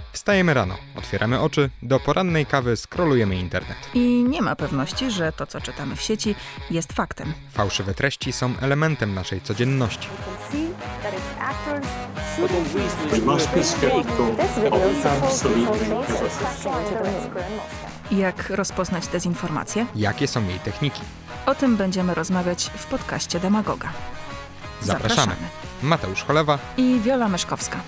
Wstajemy rano, otwieramy oczy, do porannej kawy scrollujemy internet. I nie ma pewności, że to, co czytamy w sieci, jest faktem. Fałszywe treści są elementem naszej codzienności. Jak rozpoznać dezinformację? Jakie są jej techniki? O tym będziemy rozmawiać w podcaście Demagoga. Zapraszamy. Mateusz Cholewa i Wiola Myszkowska.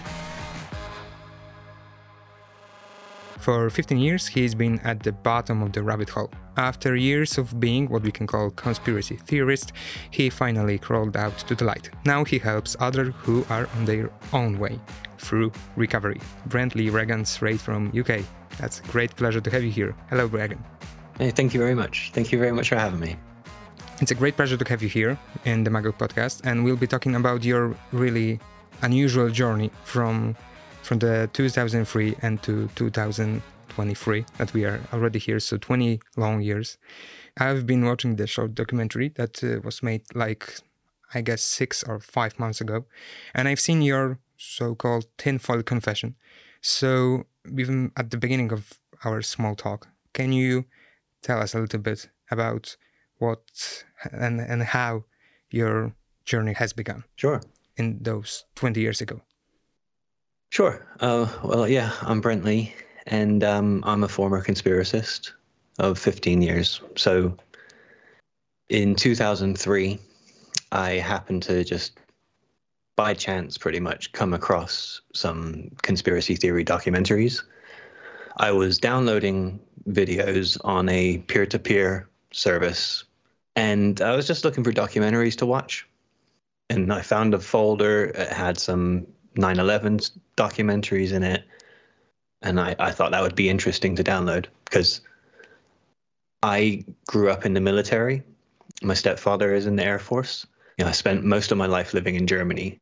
For 15 years, he has been at the bottom of the rabbit hole. After years of being what we can call conspiracy theorist, he finally crawled out to the light. Now he helps others who are on their own way through recovery. Brent Lee Regan straight from UK. That's a great pleasure to have you here. Hello, Regan. Hey, thank you very much. Thank you very much for having me. It's a great pleasure to have you here in the Magog podcast, and we'll be talking about your really unusual journey from the 2003 and to 2023 that we are already here, so 20 long years. I've been watching the short documentary that was made I guess 6 or 5 months ago, and I've seen your so-called tinfoil confession. So even at the beginning of our small talk, can you tell us a little bit about what and how your journey has begun? Sure. In those 20 years ago. Sure. I'm Brent Lee, and I'm a former conspiracist of 15 years. So in 2003, I happened to just by chance pretty much come across some conspiracy theory documentaries. I was downloading videos on a peer-to-peer service, and I was just looking for documentaries to watch. And I found a folder. It had some 9/11 documentaries in it, and I thought that would be interesting to download because I grew up in the military. My stepfather is in the Air Force. I spent most of my life living in Germany,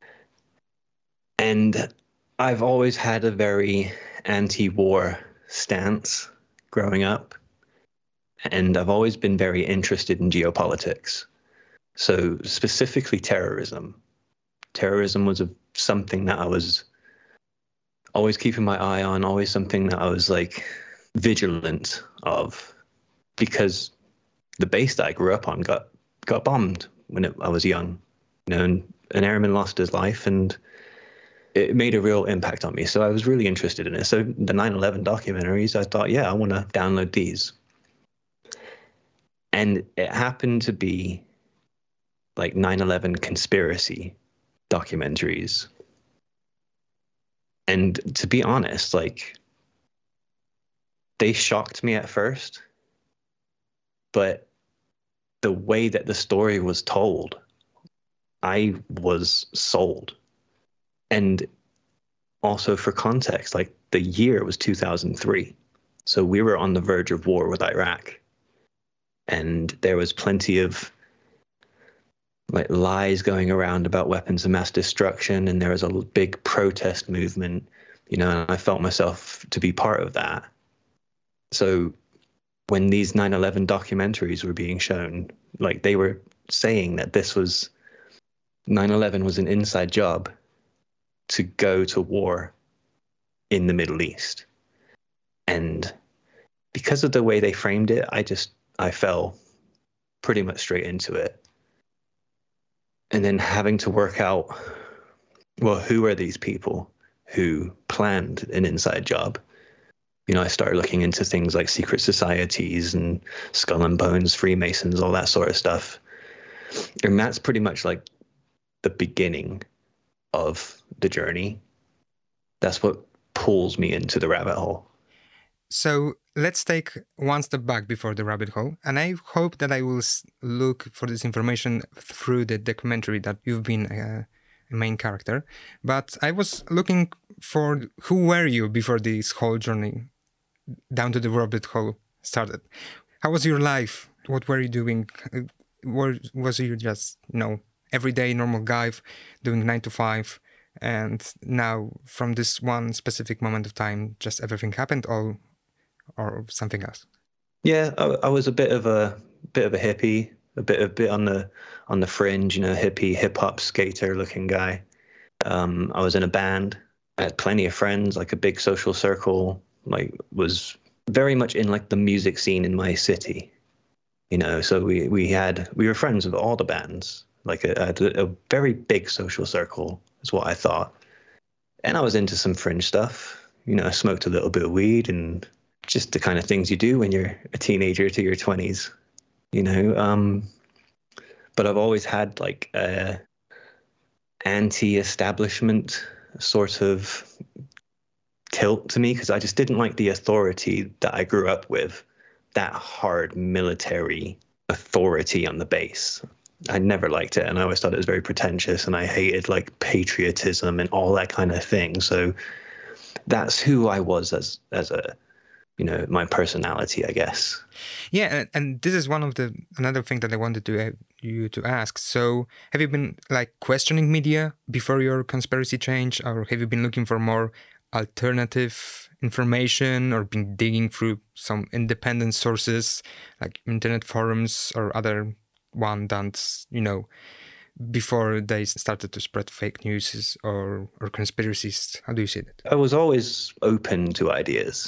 and I've always had a very anti-war stance growing up, and I've always been very interested in geopolitics. So specifically terrorism. Terrorism was something that I was always keeping my eye on, always something that I was vigilant of, because the base that I grew up on got bombed when I was young. And an airman lost his life, and it made a real impact on me. So I was really interested in it. So the 9/11 documentaries, I thought, I want to download these. And it happened to be 9/11 conspiracy documentaries. And to be honest, they shocked me at first, but the way that the story was told, I was sold. And also for context, the year was 2003. So we were on the verge of war with Iraq. And there was plenty of lies going around about weapons of mass destruction, and there was a big protest movement, and I felt myself to be part of that. So when these 9/11 documentaries were being shown, they were saying that 9/11 was an inside job to go to war in the Middle East. And because of the way they framed it, I fell pretty much straight into it. And then having to work out, who are these people who planned an inside job? I started looking into things like secret societies and Skull and Bones, Freemasons, all that sort of stuff. And that's pretty much the beginning of the journey. That's what pulls me into the rabbit hole. So let's take one step back before the rabbit hole. And I hope that I will look for this information through the documentary that you've been a main character. But I was looking for who were you before this whole journey down to the rabbit hole started. How was your life? What were you doing? Was you just, everyday normal guy doing 9 to 5? And now from this one specific moment of time, just everything happened or something else? Yeah, I was a bit of a hippie, a bit on the fringe, hippie, hip hop skater looking guy. I was in a band. I had plenty of friends, like a big social circle, like was very much in like the music scene in my city, you know. So we were friends with all the bands, like a very big social circle is what I thought. And I was into some fringe stuff, you know. I smoked a little bit of weed and just the kind of things you do when you're a teenager to your 20s, you know. But I've always had like a anti-establishment sort of tilt to me, because I just didn't like the authority that I grew up with, that hard military authority on the base. I never liked it, and I always thought it was very pretentious, and I hated like patriotism and all that kind of thing. So that's who I was as a, you know, my personality, I guess. Yeah, and this is another thing that I wanted you to ask. So have you been like questioning media before your conspiracy change, or have you been looking for more alternative information, or been digging through some independent sources like internet forums or other one that, you know, before they started to spread fake news or conspiracies? How do you see that? I was always open to ideas,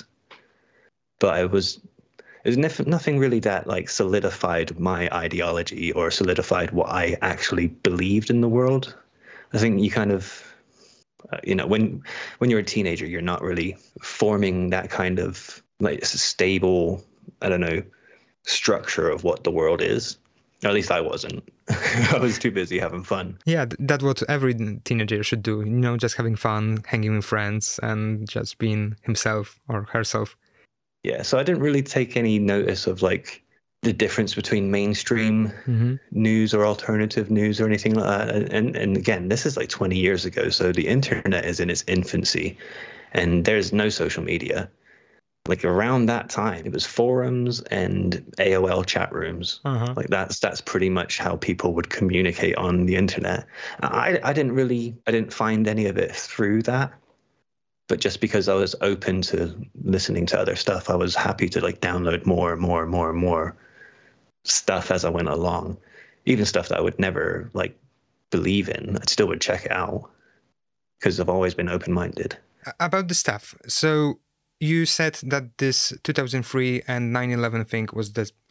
but it was nothing really that like solidified my ideology or solidified what I actually believed in the world. I think you kind of, you know, when you're a teenager, you're not really forming that kind of like stable, I don't know, structure of what the world is. Or at least I wasn't. I was too busy having fun. Yeah, that's what every teenager should do, you know, just having fun, hanging with friends, and just being himself or herself. Yeah, so I didn't really take any notice of like the difference between mainstream news or alternative news or anything like that. And again, this is like 20 years ago, so the internet is in its infancy, and there's no social media. Like around that time, it was forums and AOL chat rooms. Like that's pretty much how people would communicate on the internet. I didn't find any of it through that. But just because I was open to listening to other stuff, I was happy to like download more and more and more and more stuff as I went along. Even stuff that I would never like believe in, I still would check it out because I've always been open-minded. About the stuff. So you said that this 2003 and 9/11 thing was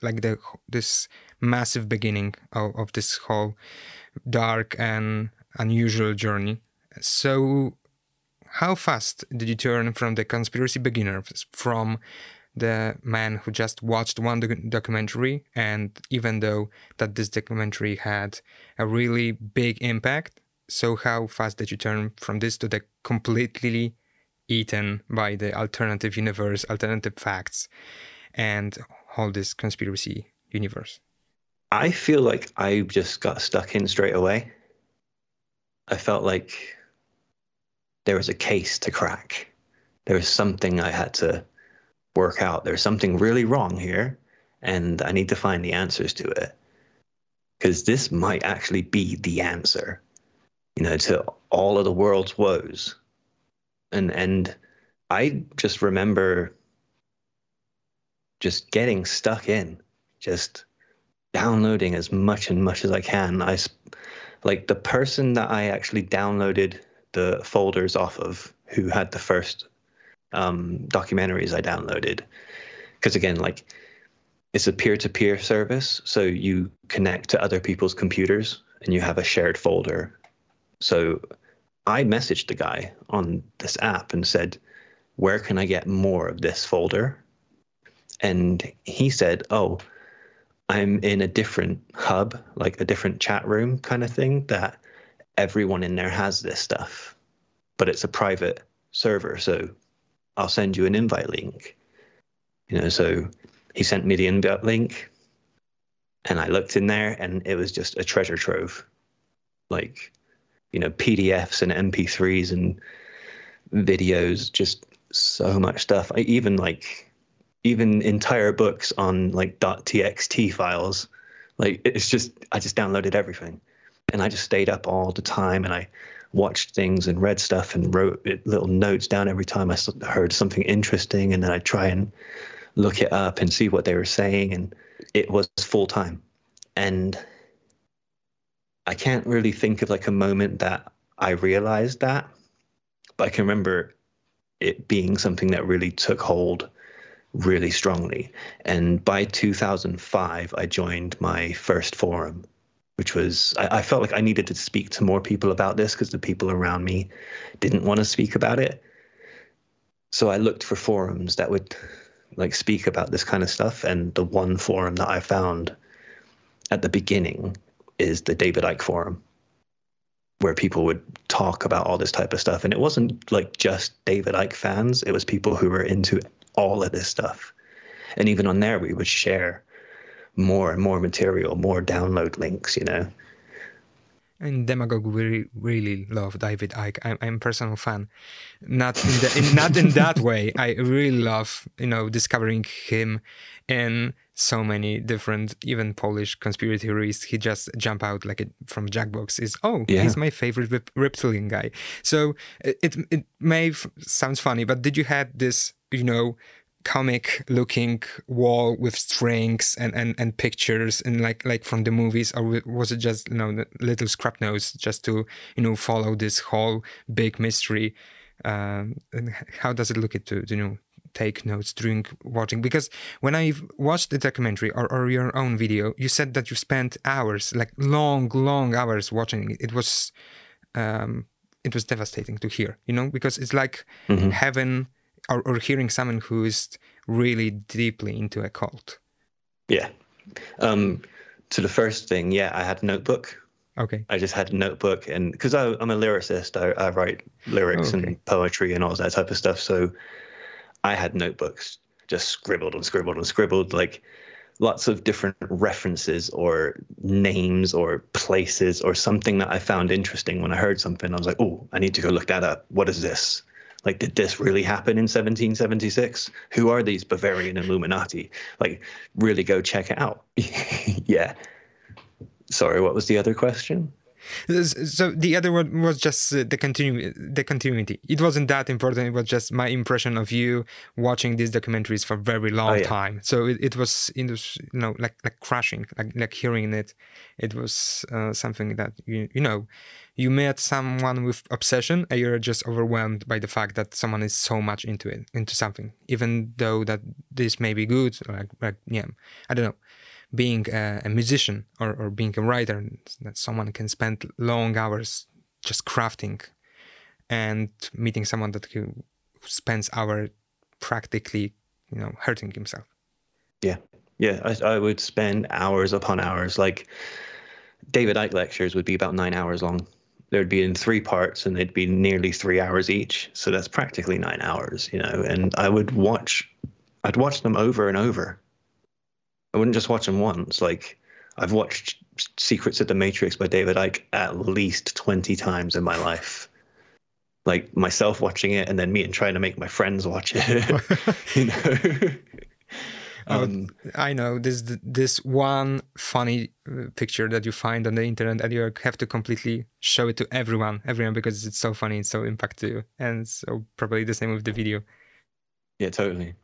this massive beginning of this whole dark and unusual journey. So how fast did you turn from the conspiracy beginner, from the man who just watched one documentary, and even though that this documentary had a really big impact, so how fast did you turn from this to the completely eaten by the alternative universe, alternative facts, and all this conspiracy universe? I feel like I just got stuck in straight away. I felt like there was a case to crack. There was something I had to work out. There's something really wrong here, and I need to find the answers to it. Because this might actually be the answer, you know, to all of the world's woes. And I just remember just getting stuck in, just downloading as much as I can. Like the person that I actually downloaded the folders off of, who had the first documentaries I downloaded, because again, like it's a peer-to-peer service, so you connect to other people's computers and you have a shared folder. So I messaged the guy on this app and said, where can I get more of this folder? And he said, oh, I'm in a different hub, like a different chat room kind of thing, that everyone in there has this stuff, but it's a private server, so I'll send you an invite link. You know, so he sent me the invite link, and I looked in there, and it was just a treasure trove, like, you know, PDFs and MP3s and videos, just so much stuff. Even entire books on like .txt files. Like it's just, I just downloaded everything, and I just stayed up all the time, and I watched things and read stuff and wrote little notes down every time I heard something interesting, and then I'd try and look it up and see what they were saying, and it was full time. And I can't really think of like a moment that I realized that, But I can remember it being something that really took hold really strongly. And by 2005, I joined my first forum, which was, I felt like I needed to speak to more people about this because the people around me didn't want to speak about it. So I looked for forums that would like speak about this kind of stuff. And the one forum that I found at the beginning is the David Icke forum, where people would talk about all this type of stuff. And it wasn't like just David Icke fans. It was people who were into all of this stuff. And even on there, we would share more and more material, more download links, you know. And Demagogue really love David Icke. I'm a personal fan. Not in that way. I really love, discovering him in so many different, even Polish conspiracy theories. He just jump out like from Jackbox. He's my favorite reptilian guy. So it may sounds funny, but did you have this, comic looking wall with strings and pictures and like from the movies, or was it just little scrap notes just to follow this whole big mystery? And how does it look to take notes during watching? Because when I watched the documentary or your own video, you said that you spent hours, like long hours watching it. It was devastating to hear, because it's like having or hearing someone who is really deeply into a cult. Yeah. To the first thing, I had a notebook. Okay. I just had a notebook, and because I'm a lyricist, I write lyrics and poetry and all that type of stuff. So I had notebooks, just scribbled and scribbled and scribbled, like lots of different references or names or places or something that I found interesting. When I heard something, I was like, oh, I need to go look that up. What is this? Like, did this really happen in 1776? Who are these Bavarian Illuminati? Like, really go check it out. Yeah. Sorry, what was the other question? So the other one was just the continuity. It wasn't that important. It was just my impression of you watching these documentaries for a very long time. So it was, like crashing, like hearing it. It was something that you met someone with obsession, and you're just overwhelmed by the fact that someone is so much into something, even though that this may be good. I don't know. Being a musician or being a writer, that someone can spend long hours just crafting, and meeting someone that who spends hours practically, hurting himself. Yeah. I would spend hours upon hours. Like David Icke lectures would be about 9 hours long. There'd be in 3 parts, and they'd be nearly 3 hours each. So that's practically 9 hours, And I'd watch them over and over. I wouldn't just watch them once. Like, I've watched Secrets of the Matrix by David Icke at least 20 times in my life. Like, myself watching it, and then me and trying to make my friends watch it. I know this one funny picture that you find on the internet, and you have to completely show it to everyone because it's so funny, it's so impactful, and so probably the same with the video. Yeah, totally.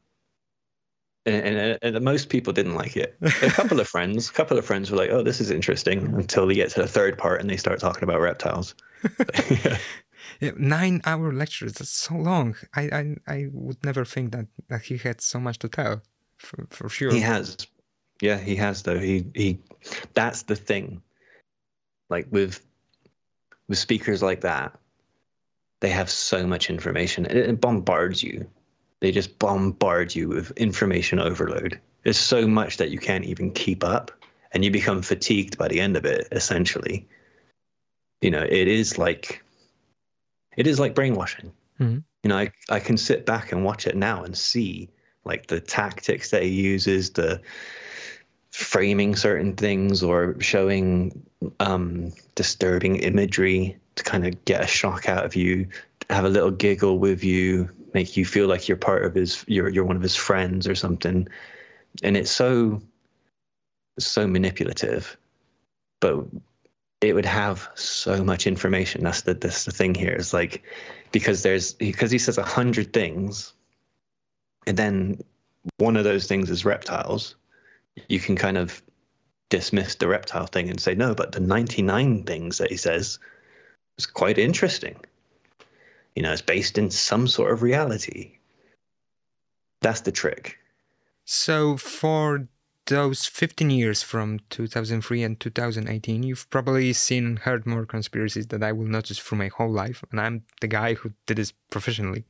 And most people didn't like it. A couple of friends were like, "Oh, this is interesting," until they get to the 3rd part and they start talking about reptiles. Yeah, 9-hour lectures. That's so long. I would never think that he had so much to tell. For sure. He has. Yeah, he has though. He that's the thing. Like with speakers like that, they have so much information. It bombards you. They just bombard you with information overload. There's so much that you can't even keep up, and you become fatigued by the end of it, essentially. It is like brainwashing. Mm-hmm. I can sit back and watch it now and see like the tactics that he uses, the framing certain things or showing disturbing imagery to kind of get a shock out of you, have a little giggle with you, make you feel like you're part of you're one of his friends or something. And it's so manipulative, but it would have so much information. That's the thing here. It's like, because he says 100 things, and then one of those things is reptiles, you can kind of dismiss the reptile thing and say, no, but the 99 things that he says is quite interesting. It's based in some sort of reality. That's the trick. So for those 15 years from 2003 and 2018, you've probably seen and heard more conspiracies that I will notice through my whole life. And I'm the guy who did this professionally.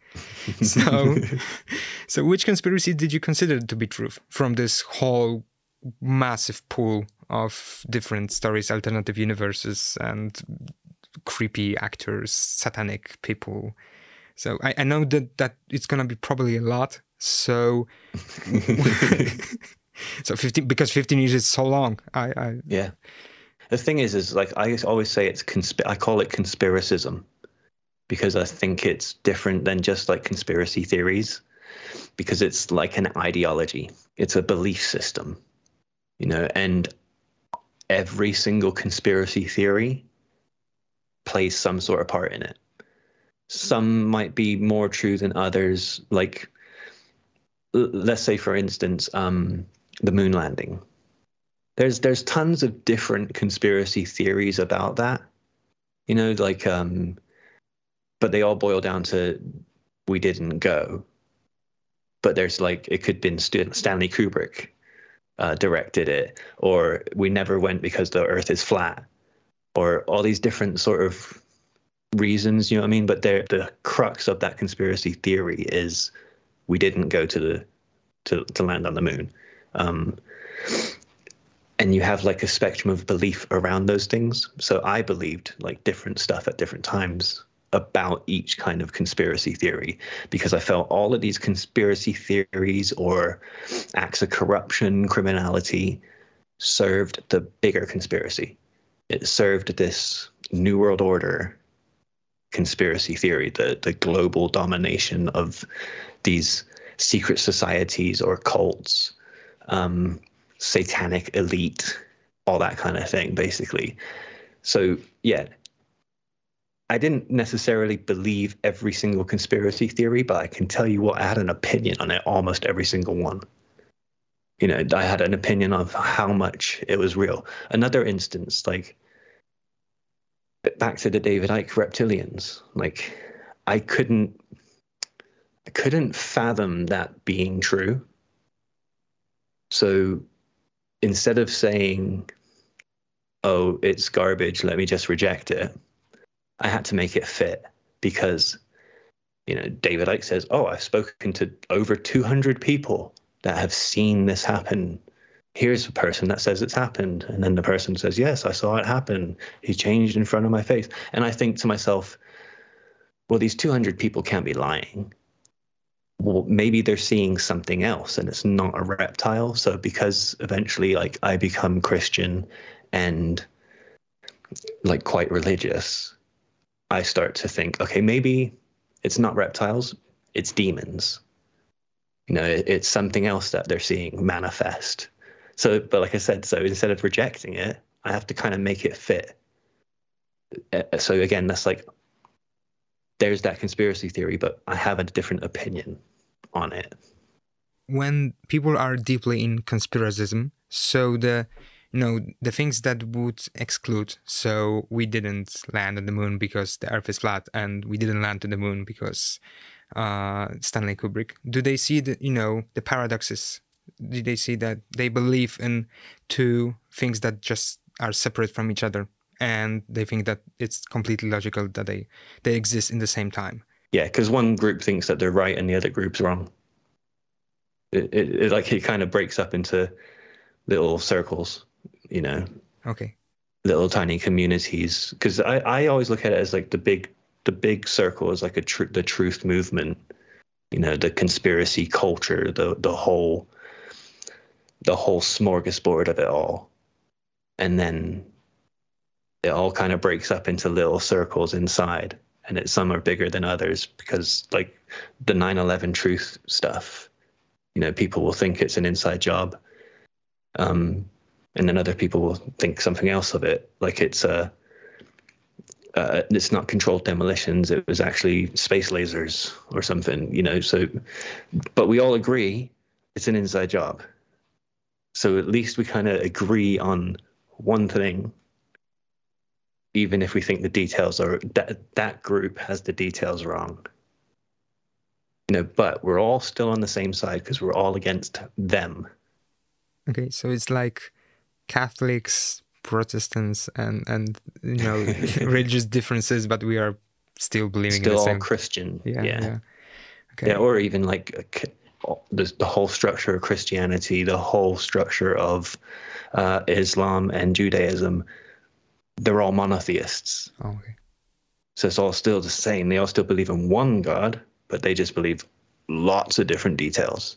So which conspiracy did you consider to be truth from this whole massive pool of different stories, alternative universes, and creepy actors, satanic people? So I know that it's going to be probably a lot. So, so 15, because 15 years is so long. Yeah. The thing is like I always say I call it conspiracism, because I think it's different than just like conspiracy theories, because it's like an ideology. It's a belief system, and every single conspiracy theory plays some sort of part in it. Some might be more true than others. Like, let's say, for instance, the moon landing. There's tons of different conspiracy theories about that, but they all boil down to we didn't go. But there's like, it could have been Stanley Kubrick directed it, or we never went because the Earth is flat, or all these different sort of reasons, But the crux of that conspiracy theory is we didn't go to land on the moon. And you have like a spectrum of belief around those things. So I believed like different stuff at different times about each kind of conspiracy theory, because I felt all of these conspiracy theories or acts of corruption, criminality, served the bigger conspiracy. It served this New World Order conspiracy theory, the global domination of these secret societies or cults, satanic elite, all that kind of thing, basically. So, yeah, I didn't necessarily believe every single conspiracy theory, but I can tell you what, I had an opinion on it, almost every single one. I had an opinion of how much it was real. Another instance, like, back to the David Icke reptilians, like, I couldn't fathom that being true. So instead of saying, oh, it's garbage, let me just reject it, I had to make it fit, because, David Icke says, oh, I've spoken to over 200 people that have seen this happen. Here's a person that says it's happened. And then the person says, yes, I saw it happen. He changed in front of my face. And I think to myself, well, these 200 people can't be lying. Well, maybe they're seeing something else and it's not a reptile. So because eventually, like, I become Christian and like quite religious, I start to think, okay, maybe it's not reptiles, it's demons. It's something else that they're seeing manifest. So, but like I said, so instead of rejecting it, I have to kind of make it fit. So again, that's like, there's that conspiracy theory, but I have a different opinion on it. When people are deeply in conspiracism, so the things that would exclude, so we didn't land on the moon because the Earth is flat, and we didn't land on the moon because Stanley Kubrick, do they see the paradoxes? Do they see that they believe in two things that just are separate from each other, and they think that it's completely logical that they exist in the same time? Yeah, because one group thinks that they're right and the other group's wrong. It kind of breaks up into little circles, Okay. Little tiny communities. Because I always look at it as like the big circle is like the truth movement, the conspiracy culture, the whole smorgasbord of it all. And then it all kind of breaks up into little circles inside, and some are bigger than others, because like the 9/11 truth stuff, people will think it's an inside job. And then other people will think something else of it, like it's not controlled demolitions, it was actually space lasers or something, so, but we all agree it's an inside job. So at least we kind of agree on one thing, even if we think the details are that group has the details wrong. But we're all still on the same side because we're all against them. Okay, so it's like Catholics, Protestants, and religious differences, but we are still believing still in the same. All Christian. Yeah. Okay. Yeah, or even like the whole structure of Christianity, the whole structure of Islam and Judaism. They're all monotheists. Oh, okay. So it's all still the same. They all still believe in one God, but they just believe lots of different details.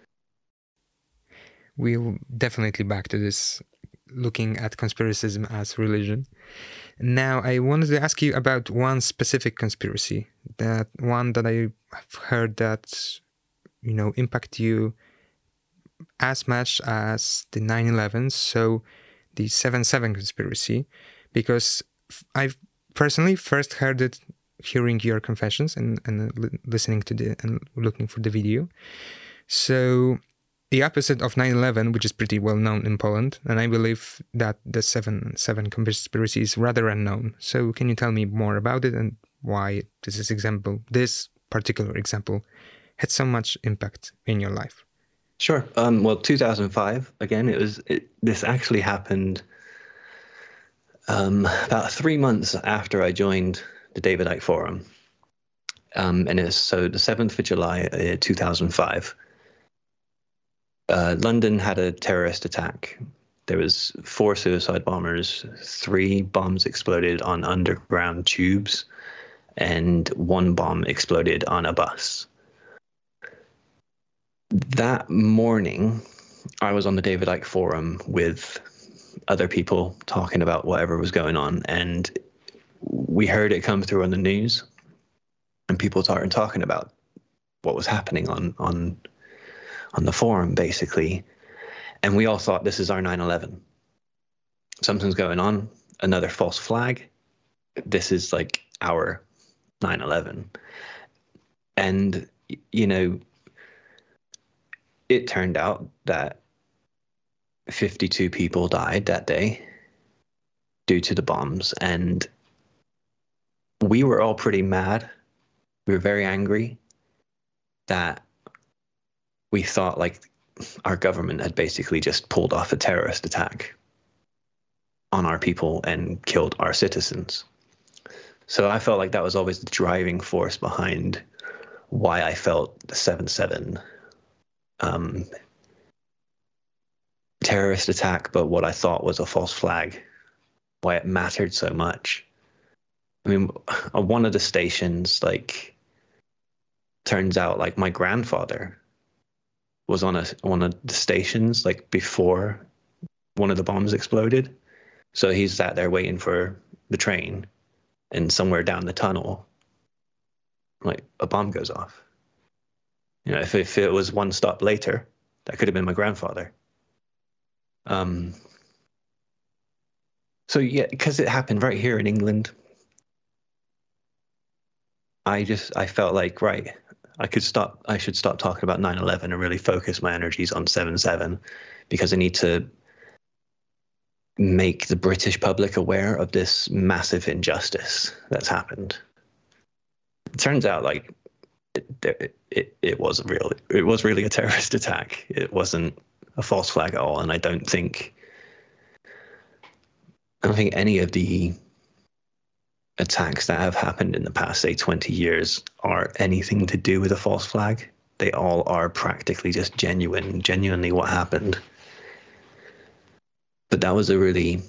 We'll definitely back to this, looking at conspiracism as religion. Now, I wanted to ask you about one specific conspiracy, that one that I've heard that, impact you as much as the 9/11, so the 7/7 conspiracy, because I've personally first heard it hearing your confessions and listening to and looking for the video. So the opposite of 9/11, which is pretty well known in Poland, and I believe that the 7/7 conspiracy is rather unknown. So can you tell me more about it and why this particular example had so much impact in your life? Sure. Well, 2005, again, this actually happened about 3 months after I joined the David Icke Forum. And it's so the 7th of July, 2005. London had a terrorist attack. There was 4 suicide bombers, 3 bombs exploded on underground tubes, and 1 bomb exploded on a bus. That morning, I was on the David Icke Forum with other people talking about whatever was going on, and we heard it come through on the news, and people started talking about what was happening on the forum, basically. And we all thought, this is our 9/11. Something's going on, another false flag. This is like our 9/11. And, it turned out that 52 people died that day due to the bombs. And we were all pretty mad. We were very angry that we thought like our government had basically just pulled off a terrorist attack on our people and killed our citizens. So I felt like that was always the driving force behind why I felt the 7/7 terrorist attack, but what I thought was a false flag, why it mattered so much. I mean, on one of the stations, like, turns out like my grandfather was on one of the stations like before one of the bombs exploded. So he's sat there waiting for the train, and somewhere down the tunnel, like, a bomb goes off. If it was one stop later, that could have been my grandfather. So yeah, because it happened right here in England, I felt like, right, I should stop talking about 9/11 and really focus my energies on 7/7, because I need to make the British public aware of this massive injustice that's happened. It turns out like it was really a terrorist attack. It wasn't a false flag at all, and I don't think any of the attacks that have happened in the past, say, 20 years are anything to do with a false flag. They all are practically just genuinely what happened. But that was a really,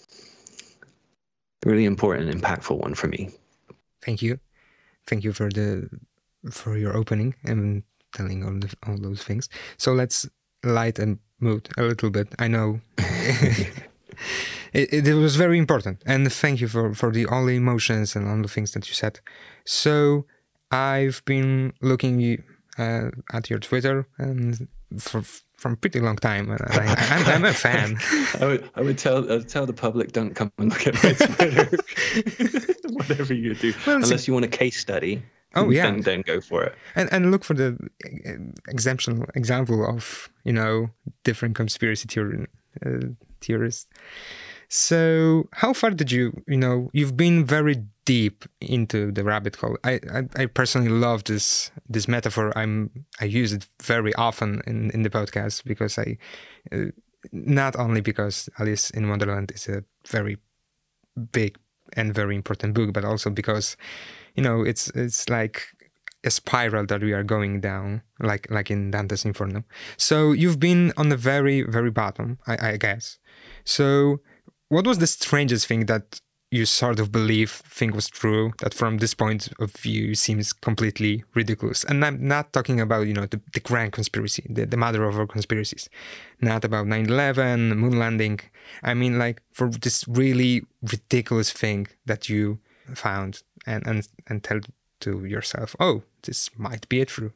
really important, impactful one for me. Thank you. Thank you for your opening and telling all those things. So let's light and mood a little bit. I know it was very important, and thank you for all the emotions and all the things that you said. So I've been looking at your Twitter and from pretty long time, and I'm a fan. I would tell the public, don't come and look at my Twitter. Whatever you do, well, unless you want a case study. Oh yeah, then go for it. And look for the example of different conspiracy theorists. So how far did you've been very deep into the rabbit hole. I personally love this metaphor. I use it very often in the podcast because not only because Alice in Wonderland is a very big and very important book, but also because, it's like a spiral that we are going down, like in Dante's Inferno. So you've been on the very, very bottom, I guess. So what was the strangest thing that you sort of think was true, that from this point of view seems completely ridiculous? And I'm not talking about, the grand conspiracy, the mother of all conspiracies. Not about 9/11, moon landing. I mean, like, for this really ridiculous thing that you found and tell to yourself, oh, this might be true.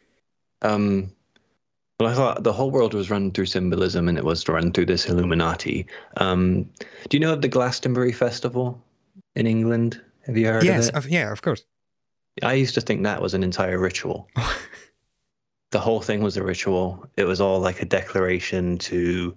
Well, I thought the whole world was run through symbolism, and it was run through this Illuminati. Do you know of the Glastonbury Festival in England? Have you heard of it? Yeah, of course. I used to think that was an entire ritual. The whole thing was a ritual. It was all like a declaration to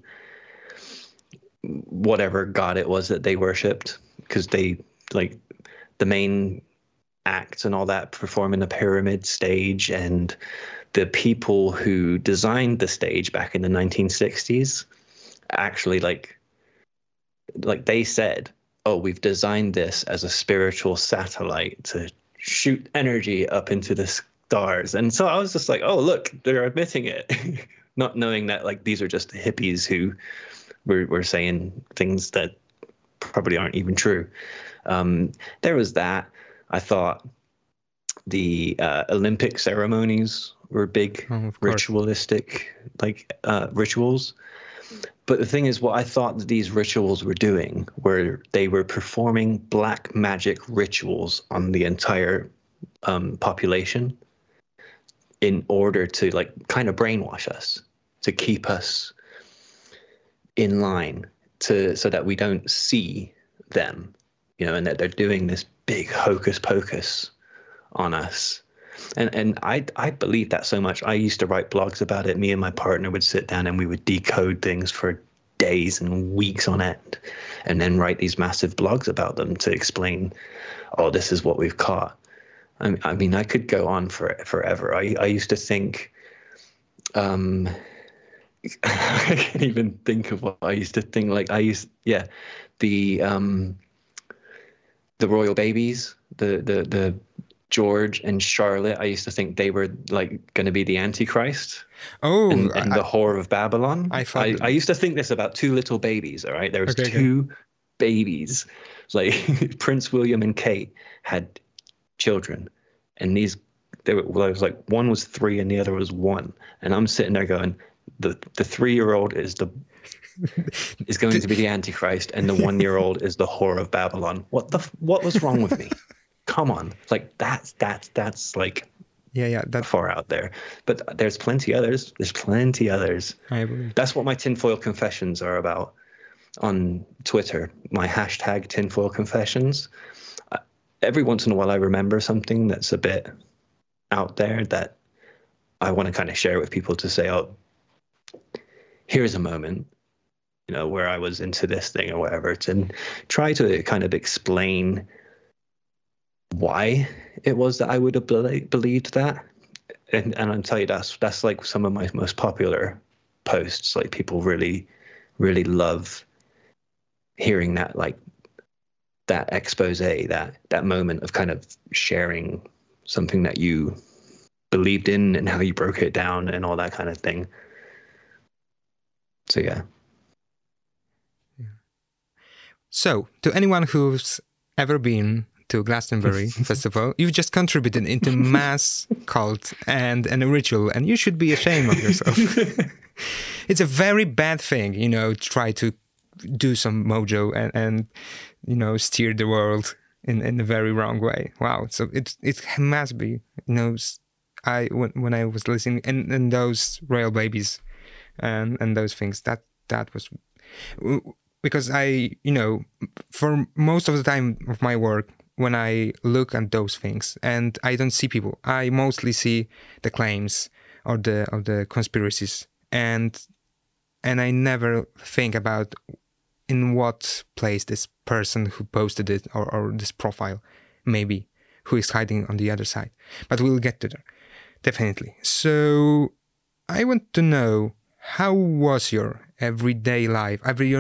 whatever god it was that they worshipped, because they, like, the main acts and all that perform in a pyramid stage, and the people who designed the stage back in the 1960s actually like they said, oh, we've designed this as a spiritual satellite to shoot energy up into the stars. And so I was just like, oh, look, they're admitting it. Not knowing that, like, these are just the hippies who were saying things that probably aren't even true. There was that. I thought the Olympic ceremonies were big ritualistic rituals. But the thing is, what I thought that these rituals were doing were they were performing black magic rituals on the entire population in order to, like, kind of brainwash us, to keep us in line, so that we don't see them, and that they're doing this big hocus pocus on us. And I believe that so much. I used to write blogs about it. Me and my partner would sit down and we would decode things for days and weeks on end, and then write these massive blogs about them to explain, oh, this is what we've caught. I mean, I could go on forever. I used to think, I can't even think of what I used to think. Like, the royal babies, the George and Charlotte, I used to think they were, like, going to be the Antichrist. Oh, and the whore of Babylon. I used to think this about two little babies. All right, there was two babies, like Prince William and Kate had children, and there was like one was 3 and the other was 1, and I'm sitting there going, the 3-year-old is going to be the Antichrist, and the 1-year-old is the whore of Babylon. What was wrong with me? Come on, like that's like that far out there. But there's plenty others. I believe. That's what my tinfoil confessions are about on Twitter. My hashtag tinfoil confessions. Every once in a while, I remember something that's a bit out there that I want to kind of share with people to say, oh, here's a moment, where I was into this thing or whatever, to try to kind of explain why it was that I would have believed that. And I'll tell you, that's like some of my most popular posts. Like, people really, really love hearing that, like, that expose, that moment of kind of sharing something that you believed in and how you broke it down and all that kind of thing. So, yeah. So, to anyone who's ever been to Glastonbury Festival, you've just contributed into mass cult and a ritual, and you should be ashamed of yourself. It's a very bad thing, try to do some mojo and steer the world in a very wrong way. Wow. So it must be, when I was listening and those royal babies and those things, that was, because I, for most of the time of my work, when I look at those things and I don't see people, I mostly see the claims or the conspiracies, and I never think about in what place this person who posted it or this profile maybe, who is hiding on the other side. But we'll get to that, definitely. So I want to know, how was your everyday life,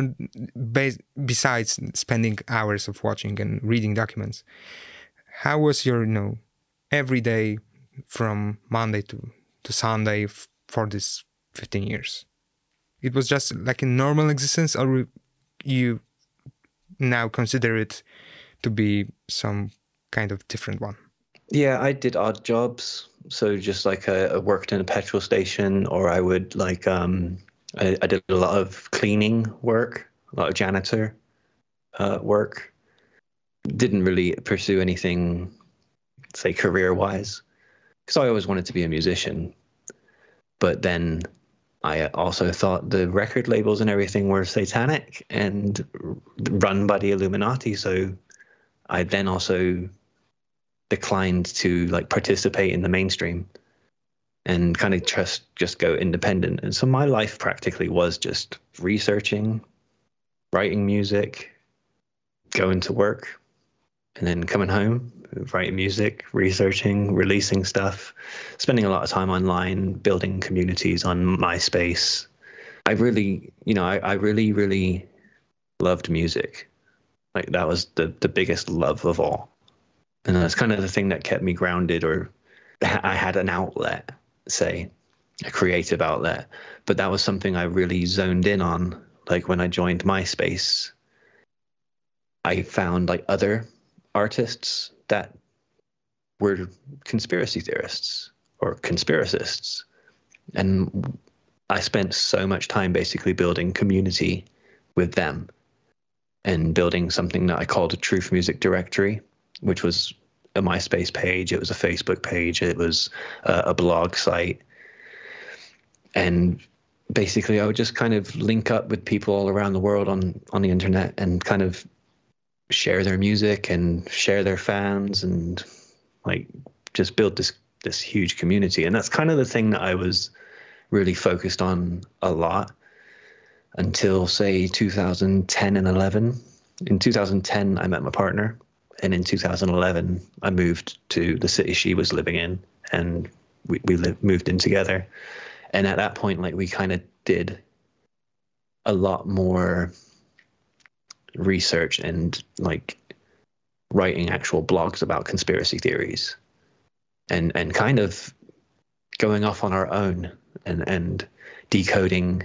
besides spending hours of watching and reading documents? How was your, every day from Monday to Sunday for this 15 years? It was just like a normal existence, or you now consider it to be some kind of different one? Yeah, I did odd jobs. So just like I worked in a petrol station, or I would like, I did a lot of cleaning work, a lot of janitor work. Didn't really pursue anything, say, career-wise, because I always wanted to be a musician. But then I also thought the record labels and everything were satanic and run by the Illuminati. So I then also declined to like participate in the mainstream and kind of just go independent. And so my life practically was just researching, writing music, going to work, and then coming home, writing music, researching, releasing stuff, spending a lot of time online, building communities on MySpace. I really, I really, really loved music. Like that was the biggest love of all. And that's kind of the thing that kept me grounded, or I had an outlet, say, a creative outlet. But that was something I really zoned in on. Like when I joined MySpace, I found like other artists that were conspiracy theorists or conspiracists. And I spent so much time basically building community with them and building something that I called a Truth Music Directory, which was a MySpace page, it was a Facebook page, it was a blog site. And basically I would just kind of link up with people all around the world on the internet and kind of share their music and share their fans and like just build this huge community. And that's kind of the thing that I was really focused on a lot until, say, 2010 and 11. In 2010, I met my partner. And in 2011, I moved to the city she was living in, and we moved in together. And at that point, like we kind of did a lot more research and like writing actual blogs about conspiracy theories and kind of going off on our own and decoding,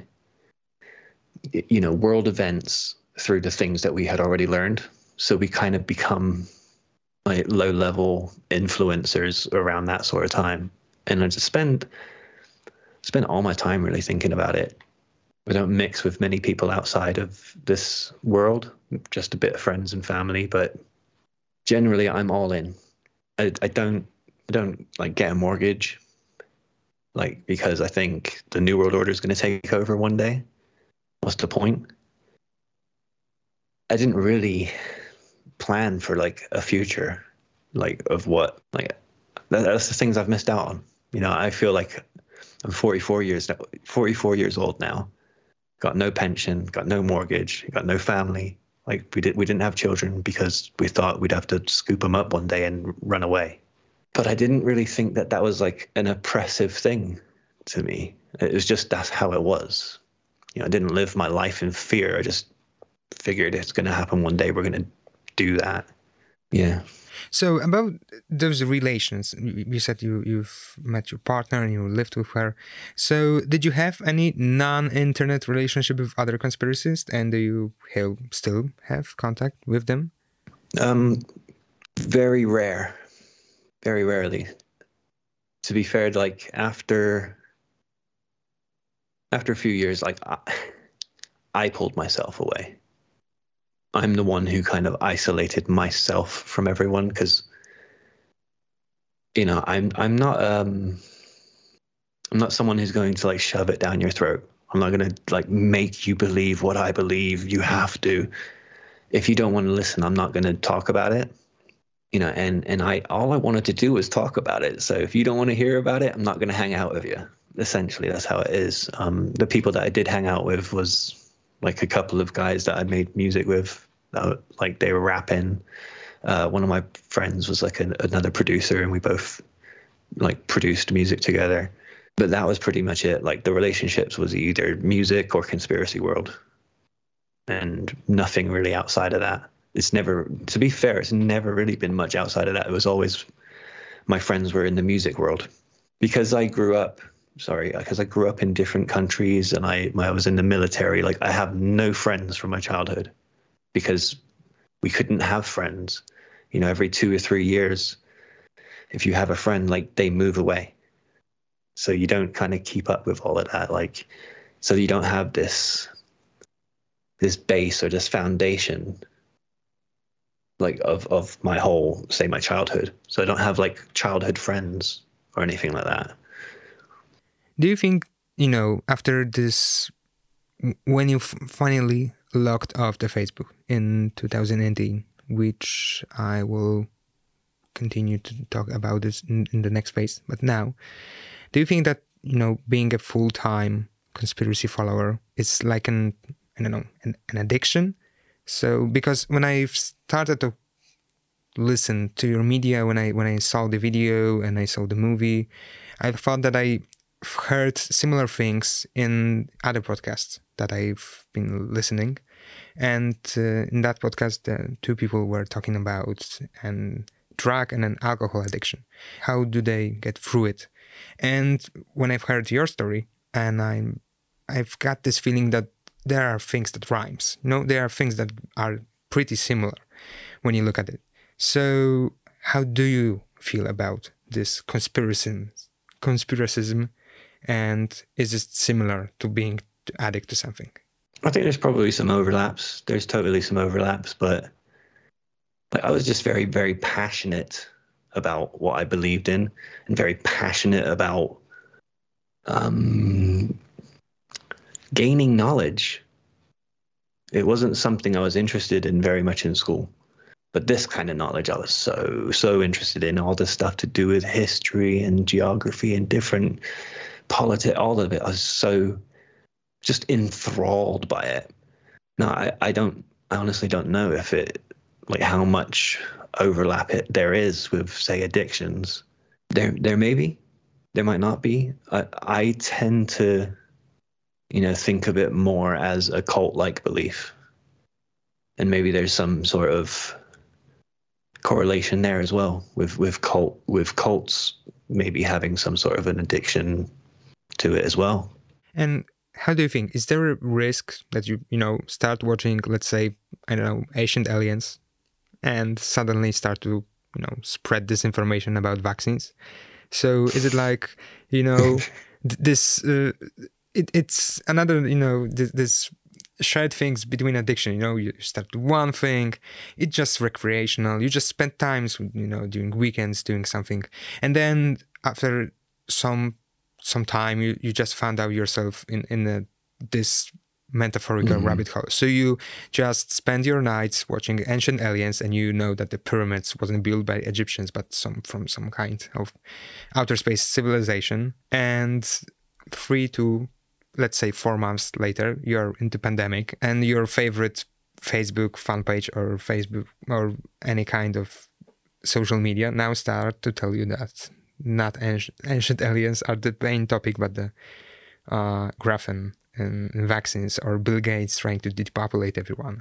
world events through the things that we had already learned. So we kind of become like low-level influencers around that sort of time. And I just spend all my time really thinking about it. I don't mix with many people outside of this world, just a bit of friends and family, but generally I'm all in. I don't like get a mortgage, like, because I think the New World Order is going to take over one day. What's the point? I didn't really plan for like a future, like of what, like that's the things I've missed out on. I feel like I'm 44 years old now. Got no pension, got no mortgage, got no family. Like we didn't have children because we thought we'd have to scoop them up one day and run away. But I didn't really think that was like an oppressive thing to me. It was just, that's how it was. I didn't live my life in fear. I just figured it's going to happen one day. We're going to do that. Yeah. So about those relations, you said you've met your partner and you lived with her. So did you have any non-internet relationship with other conspiracists, and do you still have contact with them? Very rarely. To be fair, like after a few years, like I pulled myself away. I'm the one who kind of isolated myself from everyone because, I'm not someone who's going to like shove it down your throat. I'm not going to like make you believe what I believe. You have to. If you don't want to listen, I'm not going to talk about it. And all I wanted to do was talk about it. So if you don't want to hear about it, I'm not going to hang out with you. Essentially, that's how it is. The people that I did hang out with was like a couple of guys that I made music with, like they were rapping. One of my friends was like another producer, and we both like produced music together. But that was pretty much it. Like the relationships was either music or conspiracy world, and nothing really outside of that. It's never, to be fair, it's never really been much outside of that. It was always my friends were in the music world because I grew up in different countries, and I was in the military. Like I have no friends from my childhood because we couldn't have friends. You know, every 2 or 3 years, if you have a friend, like they move away. So you don't kind of keep up with all of that. Like, so you don't have this base or this foundation like of my whole, say, my childhood. So I don't have like childhood friends or anything like that. Do you think, you know, after this, when you finally logged off the Facebook in 2018, which I will continue to talk about this in the next phase, but now, do you think that, you know, being a full-time conspiracy follower is like an addiction? So, because when I started to listen to your media, when I saw the video and I saw the movie, I thought that I heard similar things in other podcasts that I've been listening. And in that podcast, 2 people were talking about an drug and an alcohol addiction. How do they get through it? And when I've heard your story, and I've got this feeling that there are things that rhymes. You know, there are things that are pretty similar when you look at it. So how do you feel about this conspiracism? And is it similar to being addict to something? I think there's probably some overlaps. There's totally some overlaps, but like, I was just very, very passionate about what I believed in, and very passionate about gaining knowledge. It wasn't something I was interested in very much in school, but this kind of knowledge I was so interested in. All this stuff to do with history and geography and different politics, all of it. I was so just enthralled by it. Now, I honestly don't know if it, like how much overlap there is with, say, addictions. There may be, there might not be. I tend to, you know, think of it more as a cult-like belief, and maybe there's some sort of correlation there as well with cults maybe having some sort of an addiction to it as well. And how do you think, is there a risk that you start watching, let's say, I don't know, Ancient Aliens, and suddenly start to, you know, spread disinformation about vaccines? So is it like, you know, this, it's another, you know, this shared things between addiction, you know, you start one thing, it's just recreational, you just spend times, you know, during weekends doing something, and then after some time you just found out yourself in this metaphorical rabbit hole. So you just spend your nights watching Ancient Aliens, and you know that the pyramids wasn't built by Egyptians but from some kind of outer space civilization, and 3 to, let's say, 4 months later, you're into pandemic, and your favorite Facebook fan page or Facebook or any kind of social media now start to tell you that not ancient aliens are the main topic, but the graphene and vaccines, or Bill Gates trying to depopulate everyone.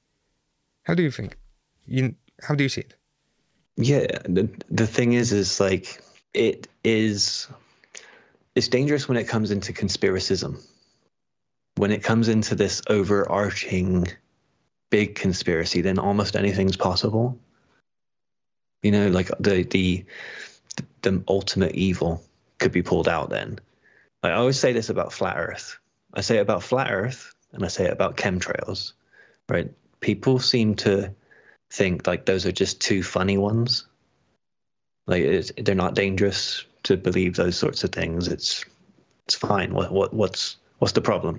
How do you think? How do you see it? Yeah, the thing is like it's dangerous when it comes into conspiracism. When it comes into this overarching big conspiracy, then almost anything's possible. You know, like the ultimate evil could be pulled out then. I always say this about flat Earth. I say it about flat Earth, and I say it about chemtrails, right? People seem to think like those are just 2 funny ones. Like they're not dangerous to believe those sorts of things. It's fine. What's the problem?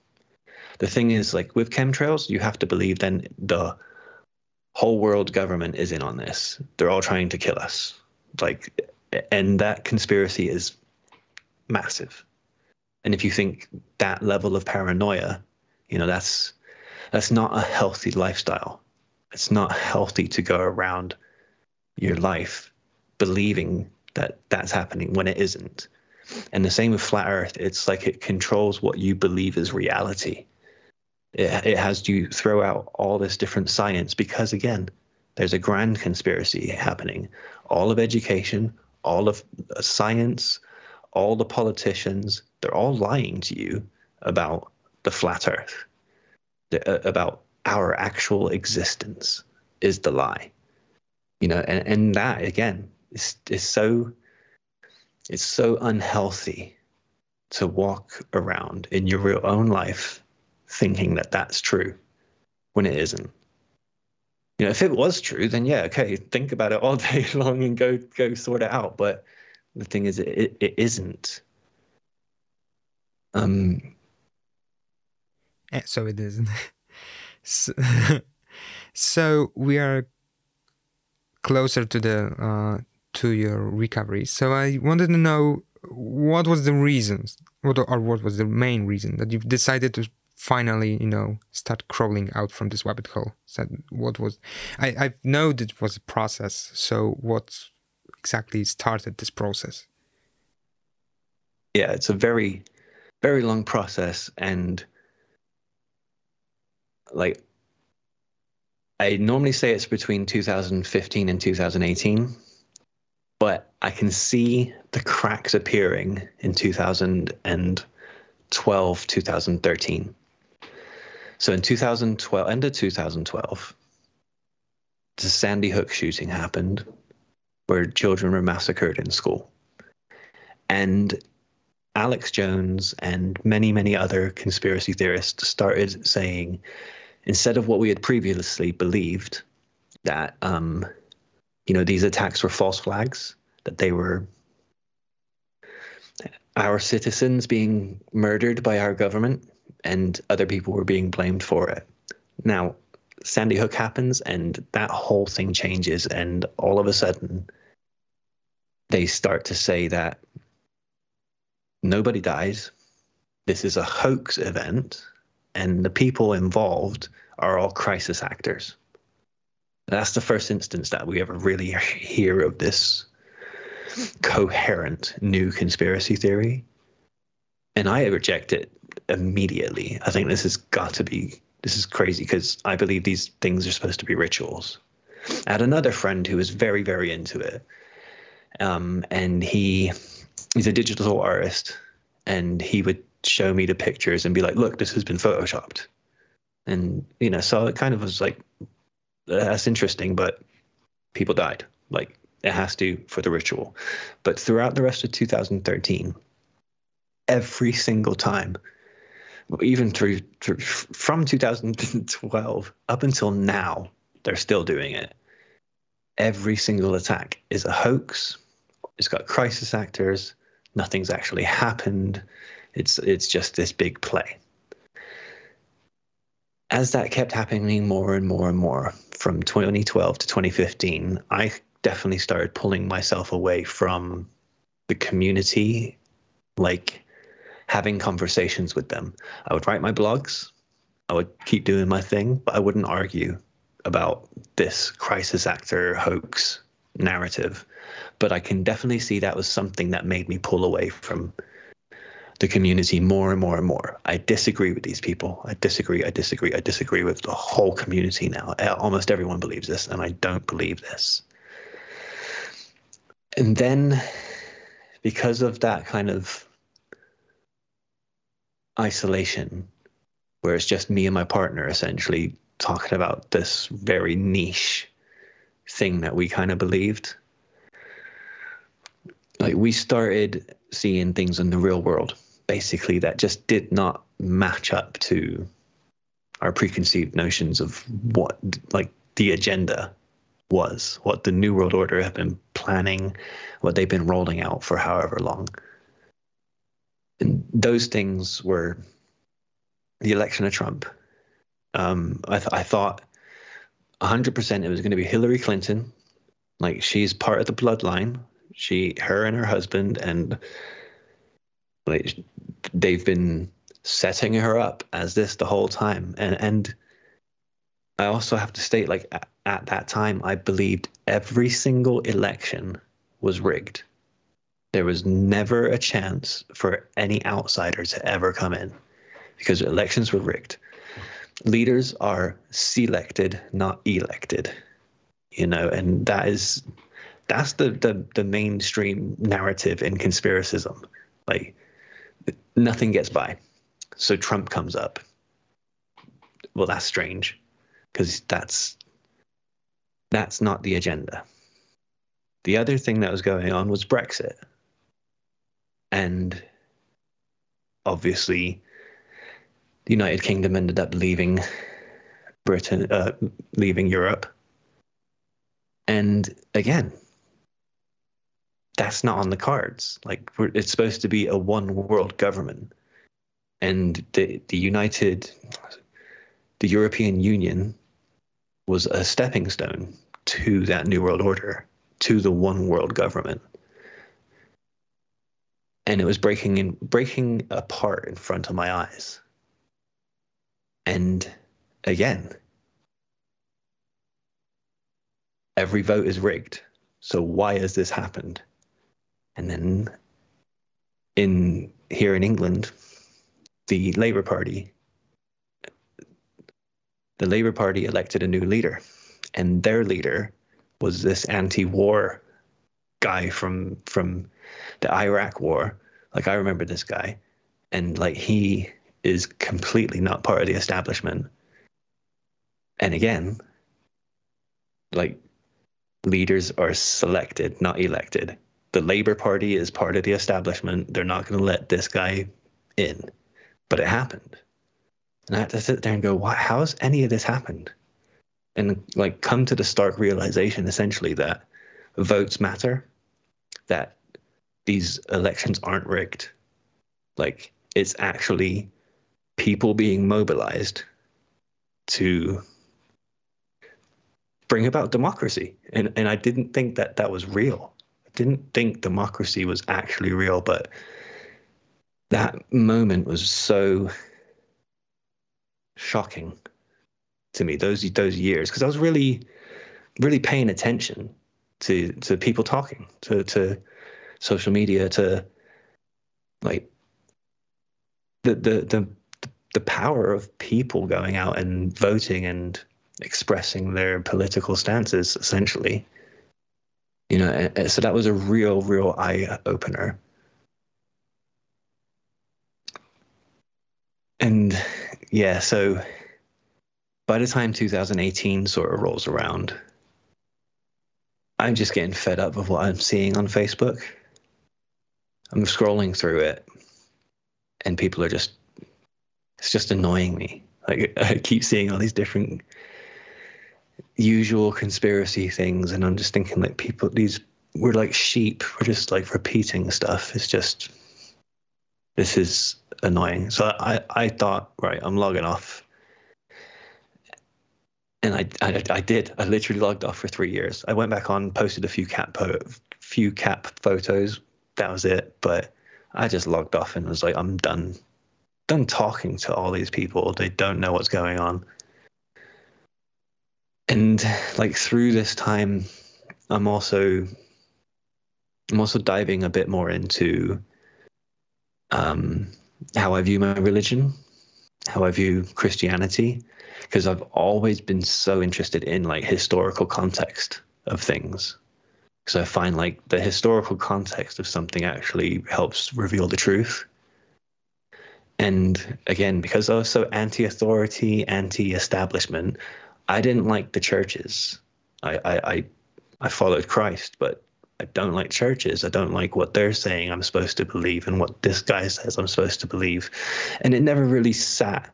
The thing is, like with chemtrails, you have to believe then the whole world government is in on this. They're all trying to kill us. Like, and that conspiracy is massive. And if you think that level of paranoia You know, that's not a healthy lifestyle. It's not healthy to go around your life believing that that's happening when it isn't. And the same with flat Earth. It's like it controls what you believe is reality. It has you throw out all this different science because, again, there's a grand conspiracy happening. All of education, all of science, all the politicians, they're all lying to you about the flat Earth, about our actual existence is the lie. You know, and that, again, is so, it's so unhealthy to walk around in your real own life thinking that that's true when it isn't. You know, if it was true, then yeah, okay, think about it all day long and go sort it out. But the thing is, it isn't. So it isn't. So we are closer to the to your recovery. So I wanted to know what was the reasons, what was the main reason that you've decided to finally, you know, start crawling out from this rabbit hole? So what was, I know that it was a process. So what exactly started this process? Yeah, it's a very, very long process, and like I normally say it's between 2015 and 2018, but I can see the cracks appearing in 2012, 2013. So in 2012, end of 2012, the Sandy Hook shooting happened, where children were massacred in school. And Alex Jones and many, many other conspiracy theorists started saying, instead of what we had previously believed, that you know, these attacks were false flags, that they were our citizens being murdered by our government and other people were being blamed for it. Now, Sandy Hook happens and that whole thing changes, and all of a sudden they start to say that nobody dies, this is a hoax event, and the people involved are all crisis actors. That's the first instance that we ever really hear of this coherent new conspiracy theory. And I reject it immediately. I think this is crazy, because I believe these things are supposed to be rituals. I had another friend who was very, very into it. And he's a digital artist, and he would show me the pictures and be like, look, this has been photoshopped. And, you know, so it kind of was like, that's interesting, but people died. Like, it has to for the ritual. But throughout the rest of 2013, every single time, even from 2012 up until now, they're still doing it. Every single attack is a hoax. It's got crisis actors. Nothing's actually happened. It's just this big play. As that kept happening more and more and more from 2012 to 2015, I definitely started pulling myself away from the community, like having conversations with them. I would write my blogs. I would keep doing my thing, but I wouldn't argue about this crisis actor hoax narrative. But I can definitely see that was something that made me pull away from the community more and more and more. I disagree with these people. I disagree with the whole community now. Almost everyone believes this, and I don't believe this. And then, because of that kind of isolation, where it's just me and my partner essentially talking about this very niche thing that we kind of believed, like, we started seeing things in the real world, basically, that just did not match up to our preconceived notions of what, like, the agenda was, what the New World Order have been planning, what they've been rolling out for however long. And those things were the election of Trump. I thought 100% it was going to be Hillary Clinton. Like, she's part of the bloodline. Her and her husband, and like, they've been setting her up as this the whole time. And I also have to state, like, at that time, I believed every single election was rigged. There was never a chance for any outsider to ever come in because elections were rigged. Leaders are selected, not elected, and that's the mainstream narrative in conspiracism. Like, nothing gets by. So Trump comes up. Well, that's strange because that's not the agenda. The other thing that was going on was Brexit. And obviously, the United Kingdom ended up leaving leaving Europe. And again, that's not on the cards. Like, it's supposed to be a one world government. And the European Union was a stepping stone to that new world order, to the one world government. And it was breaking apart in front of my eyes. And again, every vote is rigged. So why has this happened? And then here in England, the Labour Party elected a new leader, and their leader was this anti-war guy from the Iraq War. Like, I remember this guy, and like, he is completely not part of the establishment. And again, like, leaders are selected, not elected. The Labour Party is part of the establishment. They're not going to let this guy in. But it happened. And I had to sit there and go, how has any of this happened? And like, come to the stark realization, essentially, that votes matter, that these elections aren't rigged. Like, it's actually people being mobilized to bring about democracy. And I didn't think that was real. I didn't think democracy was actually real, but that moment was so shocking to me, those years, because I was really, really paying attention to people talking, to social media, to like the power of people going out and voting and expressing their political stances, essentially. So that was a real eye opener. And yeah, so by the time 2018 sort of rolls around, I'm just getting fed up with what I'm seeing on Facebook. I'm scrolling through it, and people are it's just annoying me. Like, I keep seeing all these different usual conspiracy things, and I'm just thinking, like, we're like sheep. We're just like repeating stuff. This is annoying. So I thought, right, I'm logging off. And I did. I literally logged off for 3 years. I went back on, posted a few cap photos. That was it. But I just logged off and was like, I'm done talking to all these people. They don't know what's going on. And like, through this time, I'm also diving a bit more into how I view my religion, how I view Christianity, because I've always been so interested in like historical context of things. Because I find like the historical context of something actually helps reveal the truth. And again, because I was so anti-authority, anti-establishment, I didn't like the churches. I followed Christ, but I don't like churches. I don't like what they're saying I'm supposed to believe and what this guy says I'm supposed to believe. And it never really sat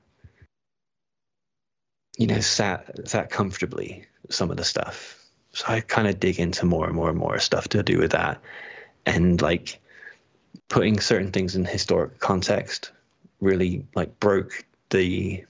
comfortably, some of the stuff. So I kind of dig into more and more and more stuff to do with that. And like, putting certain things in historic context really like broke the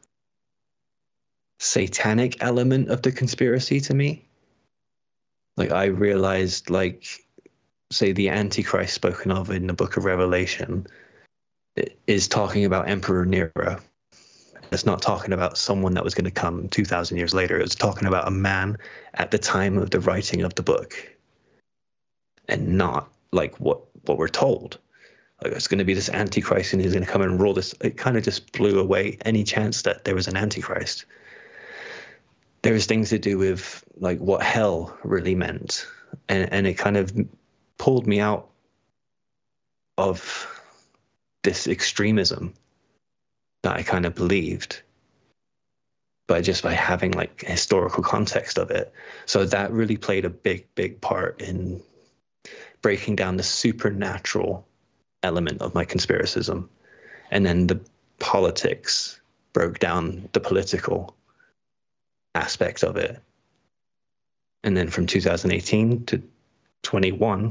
satanic element of the conspiracy to me. Like, I realized, like, say the Antichrist spoken of in the book of Revelation, is talking about Emperor Nero. It's not talking about someone that was going to come 2,000 years later. It's talking about a man at the time of the writing of the book, and not like what we're told. Like it's going to be this Antichrist and he's going to come and rule this. It kind of just blew away any chance that there was an Antichrist. There was things to do with like what hell really meant, and it kind of pulled me out of this extremism that I kind of believed, but just by having like historical context of it. So that really played a big part in breaking down the supernatural element of my conspiracism. And then the politics broke down the political aspect of it. And then from 2018 to 21,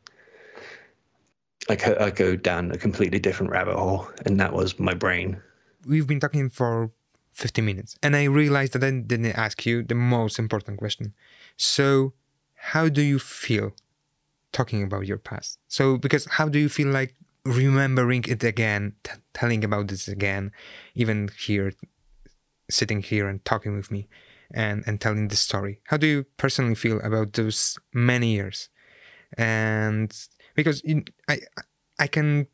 I go down a completely different rabbit hole, and that was my brain. We've been talking for 50 minutes, and I realized that I didn't ask you the most important question. So, how do you feel talking about your past? So, because how do you feel like remembering it again, telling about this again, even here, sitting here and talking with me and telling this story? How do you personally feel about those many years? And because I can,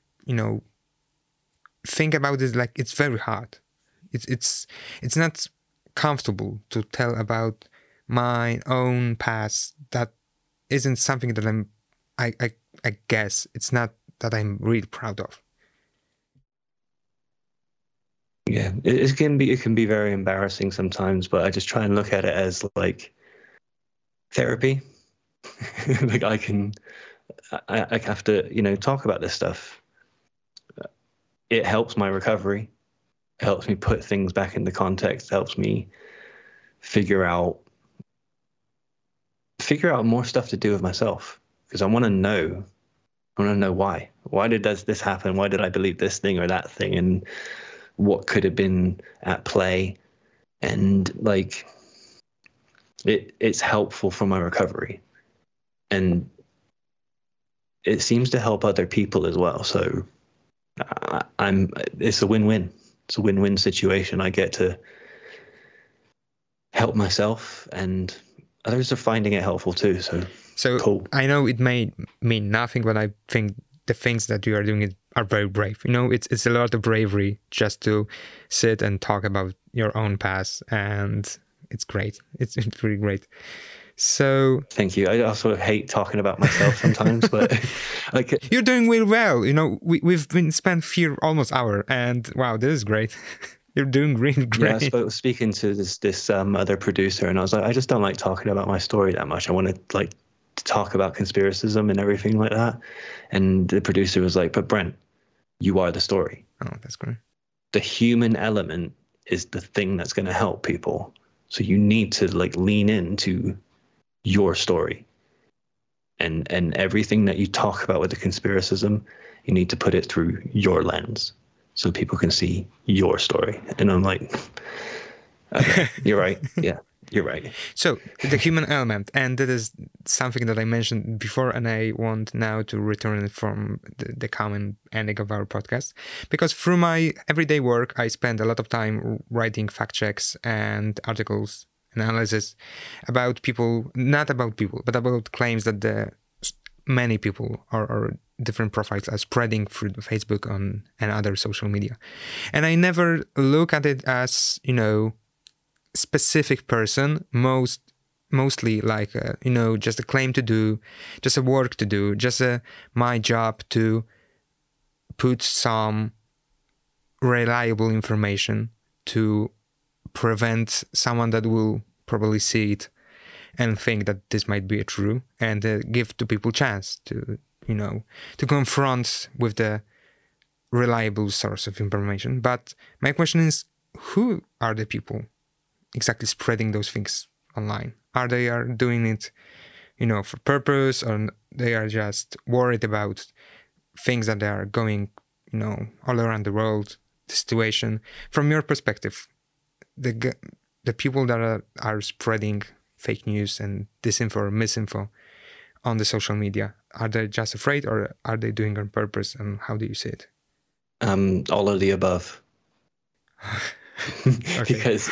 think about this like it's very hard. It's not comfortable to tell about my own past. That isn't something that I guess it's not that I'm really proud of. Yeah, it can be very embarrassing sometimes, but I just try and look at it as like therapy. Like I have to, talk about this stuff. It helps my recovery. It helps me put things back into context. It helps me figure out more stuff to do with myself, because I want to know why. Why did this happen? Why did I believe this thing or that thing? And what could have been at play? And like, it's helpful for my recovery. And it seems to help other people as well. So it's a win-win. It's a win-win situation. I get to help myself, and others are finding it helpful too. So cool. I know it may mean nothing, but I think the things that you are doing are very brave. It's a lot of bravery just to sit and talk about your own past, and it's great. It's really great. So thank you. I also hate talking about myself sometimes, but like you're doing really well. We've been spent here almost hour, and wow, this is great. You're doing really great. Yeah, I was speaking to this other producer, and I was like, I just don't like talking about my story that much. I want to talk about conspiracism and everything like that. And the producer was like, but Brent, you are the story. Oh, that's great. The human element is the thing that's going to help people. So you need to lean into your story, and everything that you talk about with the conspiracism, you need to put it through your lens so people can see your story. And I'm like, okay, you're right. Yeah, you're right. So the human element, and that is something that I mentioned before, and I want now to return it from the common ending of our podcast, because through my everyday work, I spend a lot of time writing fact checks and articles, analysis about people, not about people, but about claims that many people or different profiles are spreading through Facebook and other social media. And I never look at it as, specific person, mostly like, just a claim to do, just a work to do, just my job to put some reliable information to prevent someone that will probably see it and think that this might be true, and give to people chance to confront with the reliable source of information. But my question is, who are the people exactly spreading those things online? Are they doing it, for purpose, or they are just worried about things that are going, all around the world, the situation? From your perspective, the people that are spreading fake news and disinfo or misinfo on the social media, are they just afraid, or are they doing it on purpose, and how do you see it? All of the above. Okay. because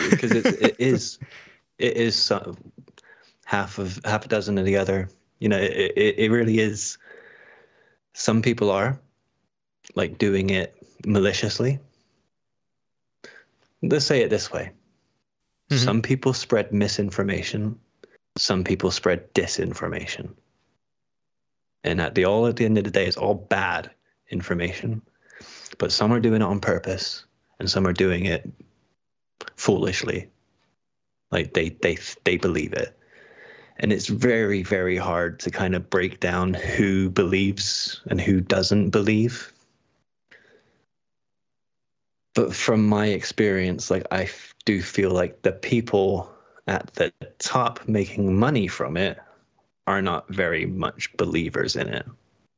it is half a dozen of the other. It really is. Some people are like doing it maliciously. Let's say it this way. Mhm. Some people spread misinformation. Some people spread disinformation. And at the end of the day, it's all bad information. But some are doing it on purpose, and some are doing it foolishly. Like they believe it. And it's very, very hard to kind of break down who believes and who doesn't believe. But from my experience, like I do feel like the people at the top making money from it are not very much believers in it.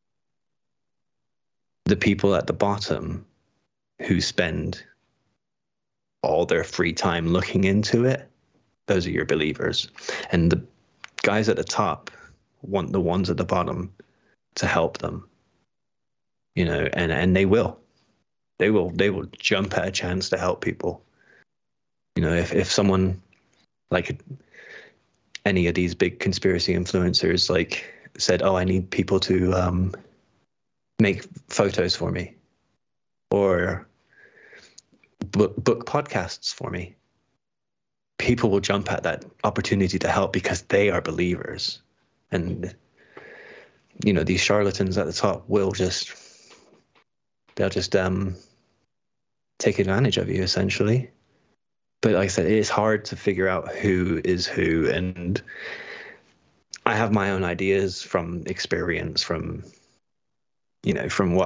The people at the bottom who spend all their free time looking into it, those are your believers. And the guys at the top want the ones at the bottom to help them, and they will jump at a chance to help people. If someone like any of these big conspiracy influencers like said, oh, I need people to make photos for me or book podcasts for me, people will jump at that opportunity to help because they are believers. And these charlatans at the top they'll just take advantage of you, essentially. But like I said, it is hard to figure out who is who, and I have my own ideas from experience, from what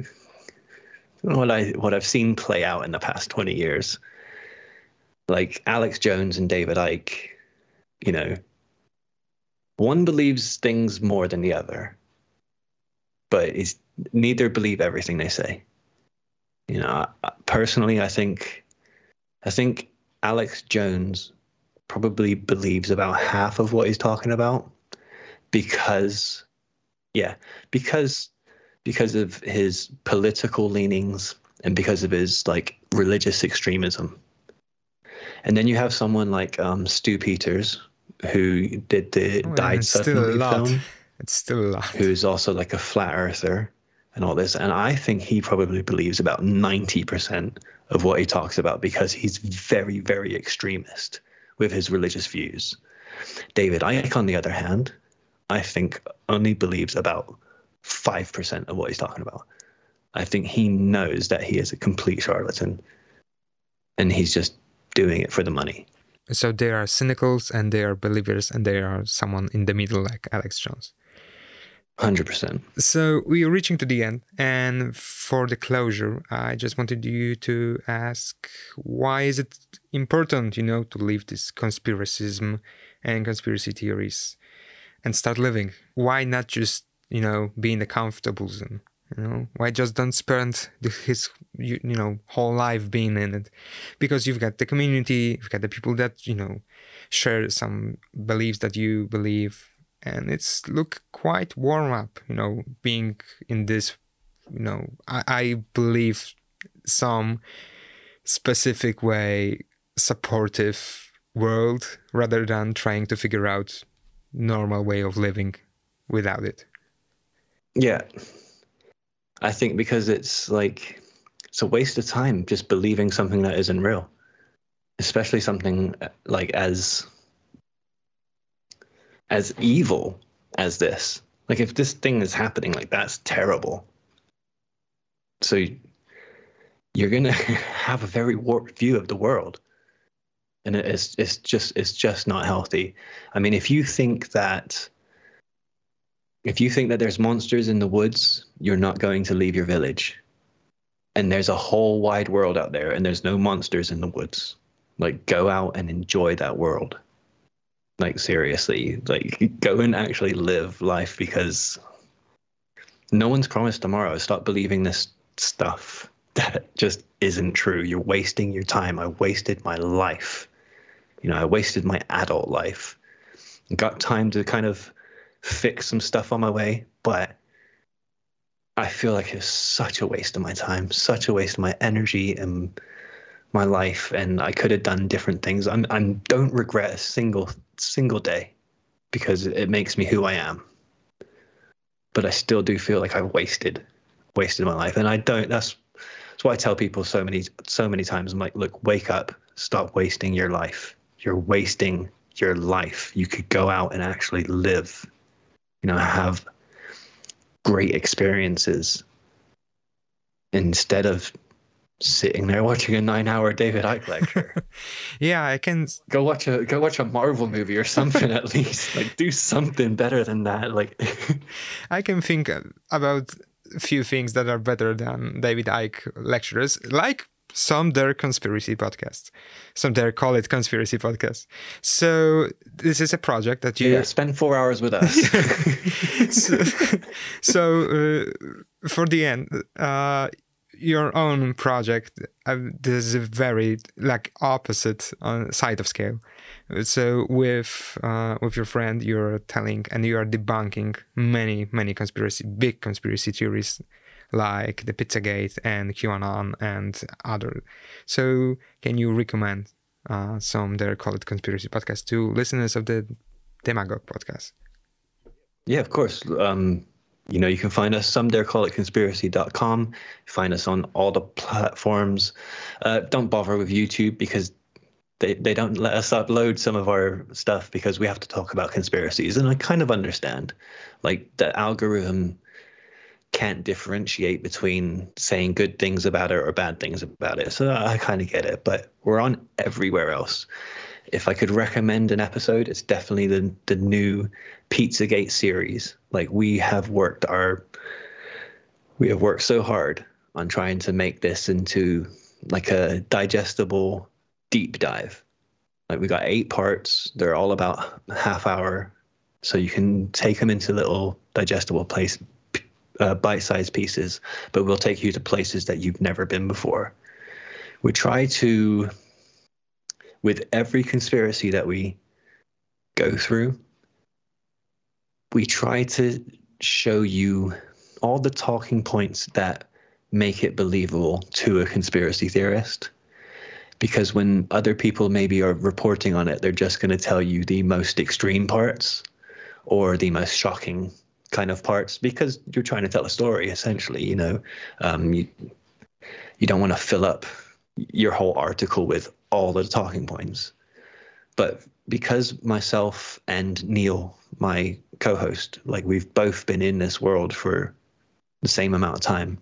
I've seen play out in the past 20 years. Like Alex Jones and David Icke, one believes things more than the other, but neither believe everything they say. Personally, I think Alex Jones probably believes about half of what he's talking about because of his political leanings and because of his like religious extremism. And then you have someone like Stu Peters, who did the Died Suddenly film. It's still a lot. Who's also like a flat earther and all this. And I think he probably believes about 90% of what he talks about because he's very, very extremist with his religious views. David Icke, on the other hand, I think only believes about 5% of what he's talking about. I think he knows that he is a complete charlatan and he's just doing it for the money. So there are cynicals and there are believers and there are someone in the middle like Alex Jones. 100%. So we are reaching to the end, and for the closure, I just wanted you to ask, why is it important, to leave this conspiracism and conspiracy theories and start living? Why not just, be in the comfortable zone? Why just don't spend his, whole life being in it? Because you've got the community, you've got the people that, share some beliefs that you believe. And it's look quite warm up, being in this, I believe some specific way supportive world rather than trying to figure out normal way of living without it. Yeah. I think because it's a waste of time just believing something that isn't real, especially something like as evil as this. Like if this thing is happening, like that's terrible. So you're gonna have a very warped view of the world, and it's just not healthy. I mean, if you think that there's monsters in the woods, you're not going to leave your village. And there's a whole wide world out there, and there's no monsters in the woods. Like go out and enjoy that world. Like seriously, like go and actually live life, because no one's promised tomorrow. Stop believing this stuff that just isn't true. You're wasting your time. I wasted my life. I wasted my adult life. Got time to kind of fix some stuff on my way, but I feel like it's such a waste of my time, such a waste of my energy and my life, and I could have done different things. I don't regret a single day because it makes me who I am. But I still do feel like I've wasted my life, and I don't. That's why I tell people so many times. I'm like, look, wake up, stop wasting your life. You're wasting your life. You could go out and actually live, have great experiences instead of sitting there watching a 9-hour David Icke lecture. Yeah, I can go watch a Marvel movie or something at least. Like, do something better than that. Like, I can think about a few things that are better than David Icke lectures, like some dare conspiracy podcasts. Some dare call it conspiracy podcasts. So this is a project that you spend 4 hours with us. so for the end, your own project, there's a very opposite side of scale. So with your friend, you're telling and you are debunking many big conspiracy theories, like the Pizzagate and QAnon and other. So can you recommend some Dare Call It Conspiracy podcasts to listeners of the Demagogue podcast? Yeah, of course. You can find us somedarecallitconspiracy.com. Find us on all the platforms. Don't bother with YouTube because they don't let us upload some of our stuff because we have to talk about conspiracies. And I kind of understand. Like, the algorithm can't differentiate between saying good things about it or bad things about it. So I kind of get it. But we're on everywhere else. If I could recommend an episode, it's definitely the new Pizzagate series. Like, we have worked so hard on trying to make this into like a digestible deep dive. Like, we got 8 parts. They're all about a half hour, so you can take them into little digestible bite-sized pieces. But we'll take you to places that you've never been before. We try to, with every conspiracy that we go through, we try to show you all the talking points that make it believable to a conspiracy theorist. Because when other people maybe are reporting on it, they're just going to tell you the most extreme parts or the most shocking kind of parts, because you're trying to tell a story, essentially. You don't want to fill up your whole article with all the talking points. But because myself and Neil, my co-host, like, we've both been in this world for the same amount of time,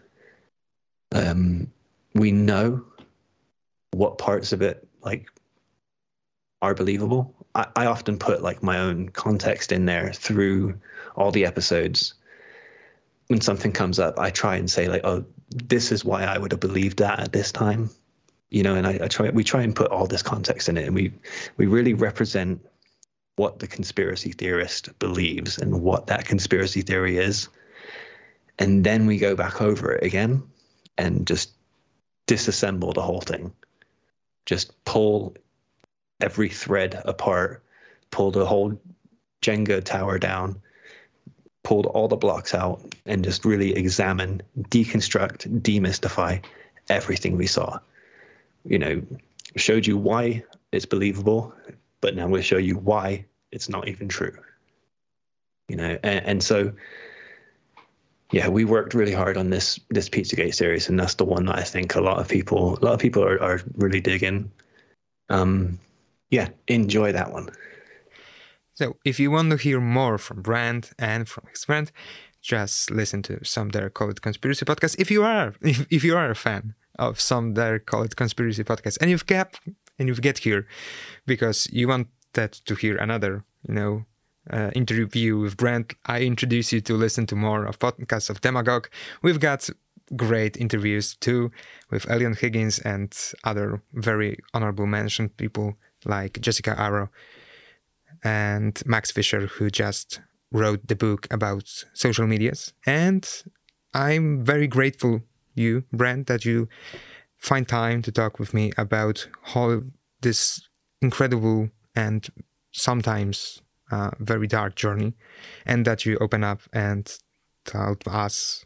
we know what parts of it are believable. I often put my own context in there through all the episodes. When something comes up, I try and say oh, this is why I would have believed that at this time, and we try and put all this context in it, and we really represent what the conspiracy theorist believes and what that conspiracy theory is. And then we go back over it again and just disassemble the whole thing. Just pull every thread apart, pull the whole Jenga tower down, pulled all the blocks out, and just really examine, deconstruct, demystify everything we saw. Showed you why it's believable, but now we'll show you why it's not even true. And so, yeah, we worked really hard on this Pizzagate series, and that's the one that I think a lot of people are really digging. Yeah, enjoy that one. So if you want to hear more from Brent and from his friend, just listen to Some Dare Call It Conspiracy podcast. If you are a fan of Some Dare Call It Conspiracy podcast, and you've get here because you wanted to hear another, interview with Brent, I introduce you to listen to more of podcasts of Demagogue. We've got great interviews too with Elion Higgins and other very honorable mentioned people like Jessica Arrow and Max Fisher, who just wrote the book about social medias. And I'm very grateful you, Brent, that you find time to talk with me about how this incredible and sometimes very dark journey, and that you open up and told us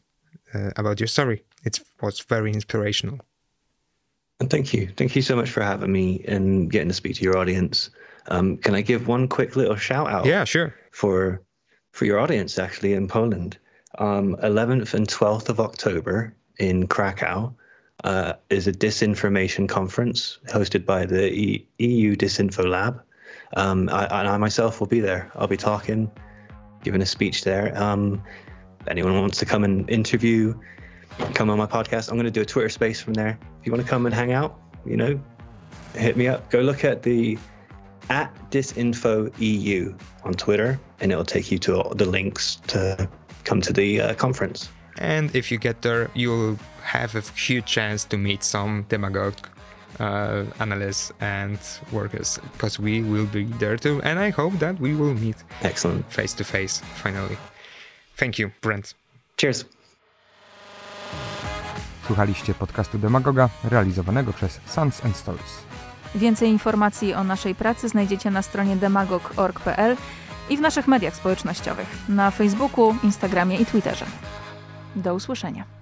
about your story. It was very inspirational. And thank you. Thank you so much for having me and getting to speak to your audience. Can I give one quick little shout out? Yeah, sure. For your audience, actually, in Poland. 11th and 12th of October in Krakow is a disinformation conference hosted by the EU Disinfo Lab. I myself will be there. I'll be talking, giving a speech there. If anyone wants to come and interview, come on my podcast. I'm going to do a Twitter space from there. If you want to come and hang out, hit me up. Go look at the @disinfoEU on Twitter, and it'll take you to all the links to come to the conference. And if you get there, you'll have a huge chance to meet some demagogue analysts and workers, because we will be there too. And I hope that we will meet face to face finally. Thank you, Brent. Cheers. Słuchaliście podcastu Demagoga realizowanego przez Sons and Stories. Więcej informacji o naszej pracy znajdziecie na stronie demagog.org.pl i w naszych mediach społecznościowych na Facebooku, Instagramie i Twitterze. Do usłyszenia.